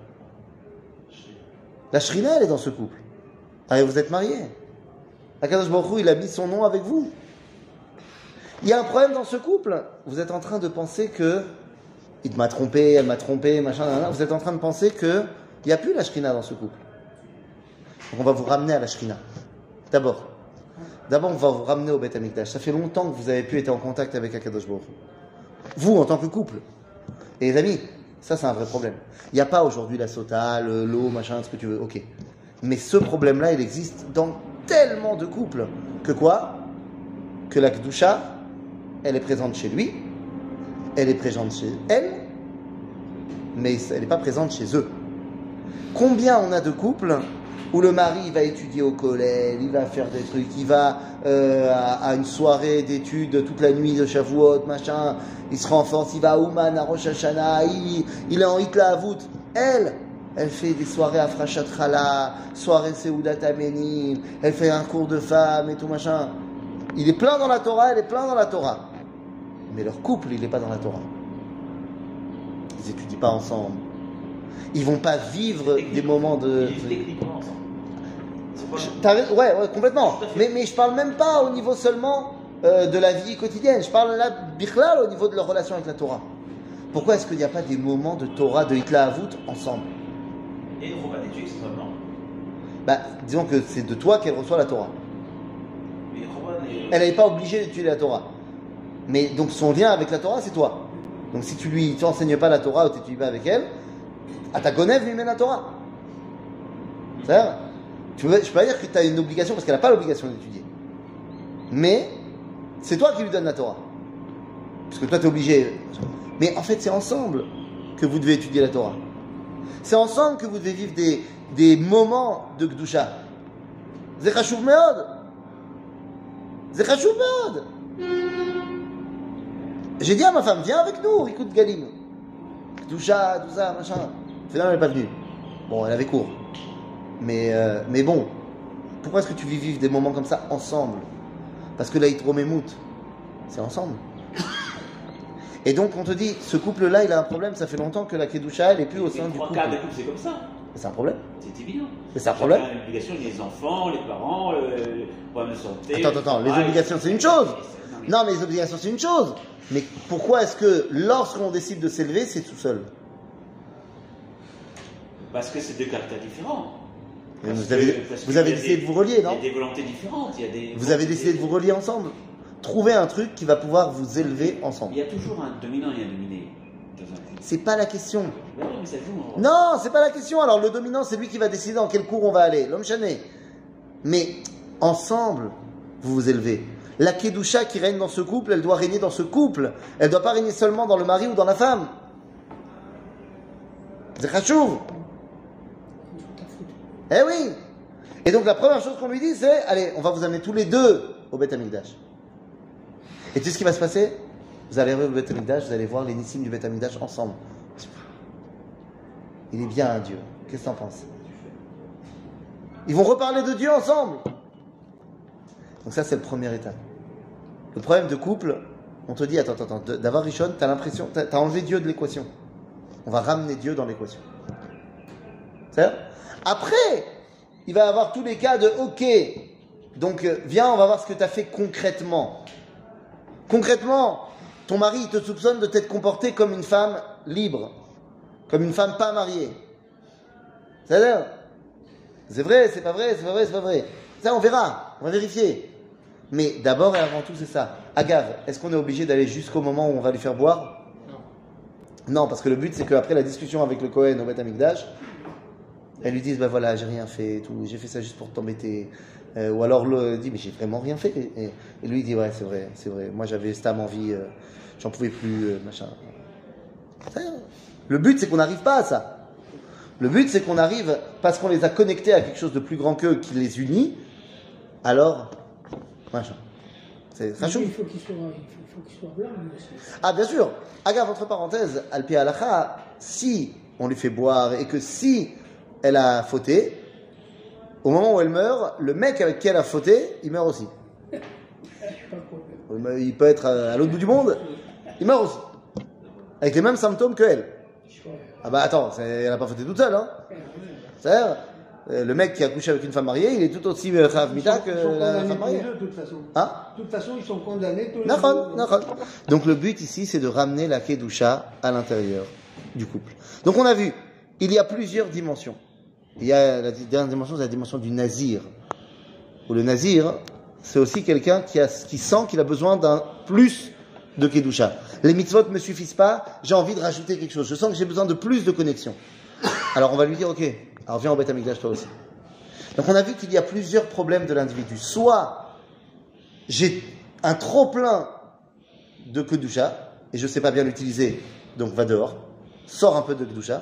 Speaker 2: La Shrina, elle est dans ce couple. Ah, et vous êtes mariés. Akadosh Baruch Hu, il a mis son nom avec vous. Il y a un problème dans ce couple. Vous êtes en train de penser que il m'a trompé, elle m'a trompé, machin, nanana. Vous êtes en train de penser qu'il n'y a plus la Shrina dans ce couple. Donc on va vous ramener à la Shrina. D'abord, on va vous ramener au Beth Amikdash. Ça fait longtemps que vous avez pu être en contact avec Akadosh Baruch Hu. Vous, en tant que couple. Et les amis, ça c'est un vrai problème. Il n'y a pas aujourd'hui la sota, l'eau, machin, ce que tu veux, ok. Mais ce problème-là, il existe dans tellement de couples. Que quoi? Que la Kedusha, elle est présente chez lui, elle est présente chez elle, mais elle n'est pas présente chez eux. Combien on a de couples où le mari il va étudier au collège, il va faire des trucs, il va à une soirée d'études toute la nuit de Shavuot, machin, il se renforce, il va à Ouman, à Rosh Hashanah, il est en Hitla Avut. Elle fait des soirées à Frachat Chala, soirée Seudat Amenim, elle fait un cours de femmes et tout machin. Il est plein dans la Torah, elle est plein dans la Torah. Mais leur couple, il n'est pas dans la Torah. Ils n'étudient pas ensemble. Ils vont pas vivre des moments de...
Speaker 4: Ils vivent techniquement ensemble.
Speaker 2: Ouais, complètement. Mais je parle même pas au niveau seulement de la vie quotidienne. Je parle là, Bichlal, au niveau de leur relation avec la Torah. Pourquoi est-ce qu'il n'y a pas des moments de Torah, de Hitla Avut ensemble?
Speaker 4: Et il ne faut pas d'études, c'est vraiment.
Speaker 2: Bah, disons que c'est de toi qu'elle reçoit la Torah.
Speaker 4: Mais
Speaker 2: elle n'est pas obligée d'étudier la Torah. Mais donc son lien avec la Torah, c'est toi. Donc si tu lui enseignes pas la Torah ou tu n'étudies pas avec elle, à ta gonev lui mène la Torah. C'est-à-dire, je peux pas dire que tu as une obligation parce qu'elle n'a pas l'obligation d'étudier. Mais c'est toi qui lui donnes la Torah. Parce que toi tu es obligé. Mais en fait c'est ensemble que vous devez étudier la Torah. C'est ensemble que vous devez vivre des moments de Kedusha. C'est chashuv meod. C'est chashuv meod. J'ai dit à ma femme, viens avec nous, Rikoud Galim. Kedusha, tout ça, machin. Finalement, elle n'est pas venue. Bon, elle avait cours. Mais bon, pourquoi est-ce que tu vis vivre des moments comme ça ensemble? Parce que la Hitromemut, c'est ensemble. Et donc, on te dit, ce couple-là, il a un problème, ça fait longtemps que la Kedusha, elle n'est plus au sein du couple.
Speaker 6: 3 quarts des couples, c'est comme ça.
Speaker 2: C'est un problème.
Speaker 6: C'est évident.
Speaker 2: Mais c'est un problème.
Speaker 6: L'obligation des enfants, les parents, les problèmes de santé.
Speaker 2: Attends, les obligations c'est une chose. Non, mais les obligations c'est une chose. Mais pourquoi est-ce que lorsqu'on décide de s'élever, c'est tout seul?
Speaker 6: Parce que c'est deux caractères différents.
Speaker 2: Vous avez décidé de vous relier, non?
Speaker 6: Il y a des volontés différentes.
Speaker 2: Vous avez décidé de vous relier ensemble. Trouvez un truc qui va pouvoir vous élever ensemble.
Speaker 6: Il y a toujours un dominant et un dominé dans un couple.
Speaker 2: C'est pas la question.
Speaker 6: Ben non, mais ça joue.
Speaker 2: Non, c'est pas la question. Alors le dominant, c'est lui qui va décider dans quel cours on va aller. L'homme chané. Mais ensemble, vous vous élevez. La Kedusha qui règne dans ce couple, elle doit régner dans ce couple. Elle ne doit pas régner seulement dans le mari ou dans la femme. C'est chachouv. Eh oui. Et donc la première chose qu'on lui dit, c'est allez, on va vous amener tous les deux au Beth Amikdash. Et tu sais ce qui va se passer? Vous allez arriver au Beth Amikdash, vous allez voir les nissim du Beth Amikdash ensemble. Il est bien un Dieu. Qu'est-ce que t'en penses? Ils vont reparler de Dieu ensemble. Donc ça, c'est le premier état. Le problème de couple, on te dit, attends, d'avoir Rishon, t'as l'impression, t'as enlevé Dieu de l'équation. On va ramener Dieu dans l'équation. C'est-à-dire, après, il va y avoir tous les cas de OK. Donc, viens, on va voir ce que t'as fait concrètement. Concrètement, ton mari, il te soupçonne de t'être comporté comme une femme libre. Comme une femme pas mariée. C'est-à-dire, c'est vrai, c'est pas vrai, c'est pas vrai, c'est pas vrai. Ça, on verra, on va vérifier. Mais d'abord et avant tout, c'est ça. Agave, est-ce qu'on est obligé d'aller jusqu'au moment où on va lui faire boire? Non, parce que le but, c'est qu'après la discussion avec le Kohen au Beth Amikdash, elles lui disent, ben voilà, j'ai rien fait, tout, j'ai fait ça juste pour t'embêter. Ou alors le dit, mais j'ai vraiment rien fait. Et lui, il dit, ouais, c'est vrai. Moi, j'avais stam envie, j'en pouvais plus, machin. Le but, c'est qu'on n'arrive pas à ça. Le but, c'est qu'on arrive, parce qu'on les a connectés à quelque chose de plus grand qu'eux, qui les unit, alors, machin. C'est rachou.
Speaker 3: Il faut qu'il soit blanc, aussi.
Speaker 2: Ah, bien sûr. Agave, entre parenthèses, Alpi Halacha, si on lui fait boire et que si elle a fauté, au moment où elle meurt, le mec avec qui elle a fauté, il meurt aussi. Il peut être à l'autre bout du monde, il meurt aussi. Avec les mêmes symptômes qu'elle. Ah bah attends, elle n'a pas fauté toute seule, hein. C'est-à-dire, le mec qui a couché avec une femme mariée, il est tout aussi Chav Mita que la femme mariée.
Speaker 1: De toute façon.
Speaker 2: Hein?
Speaker 1: De toute façon, ils sont condamnés tous les
Speaker 2: deux. Donc le but ici, c'est de ramener la Kedusha à l'intérieur du couple. Donc on a vu, il y a plusieurs dimensions. Il y a la dernière dimension, c'est la dimension du nazir. Où le nazir, c'est aussi quelqu'un qui sent qu'il a besoin d'un plus de Kedusha. Les mitzvot ne me suffisent pas, j'ai envie de rajouter quelque chose. Je sens que j'ai besoin de plus de connexion. Alors on va lui dire, ok, alors viens au Beth Amikdash toi aussi. Donc on a vu qu'il y a plusieurs problèmes de l'individu. Soit j'ai un trop plein de Kedusha, et je ne sais pas bien l'utiliser, donc va dehors, sors un peu de Kedusha,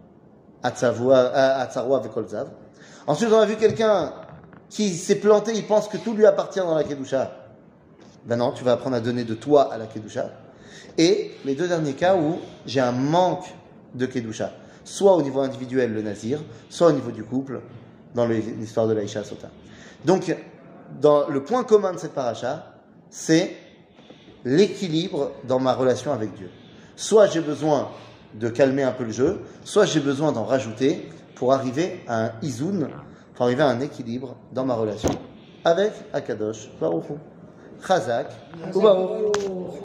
Speaker 2: Atzarua Vekolzav. Ensuite on a vu quelqu'un qui s'est planté, il pense que tout lui appartient dans la Kedusha. Ben non, tu vas apprendre à donner de toi à la Kedusha. Et les deux derniers cas où j'ai un manque de Kedusha, soit au niveau individuel, le nazir, soit au niveau du couple, dans l'histoire de l'Aïcha Sota. Donc, dans le point commun de cette paracha, c'est l'équilibre dans ma relation avec Dieu. Soit j'ai besoin de calmer un peu le jeu, soit j'ai besoin d'en rajouter pour arriver à un izoun, pour arriver à un équilibre dans ma relation avec Akadosh Baruch Hu. Chazak ou Baruch.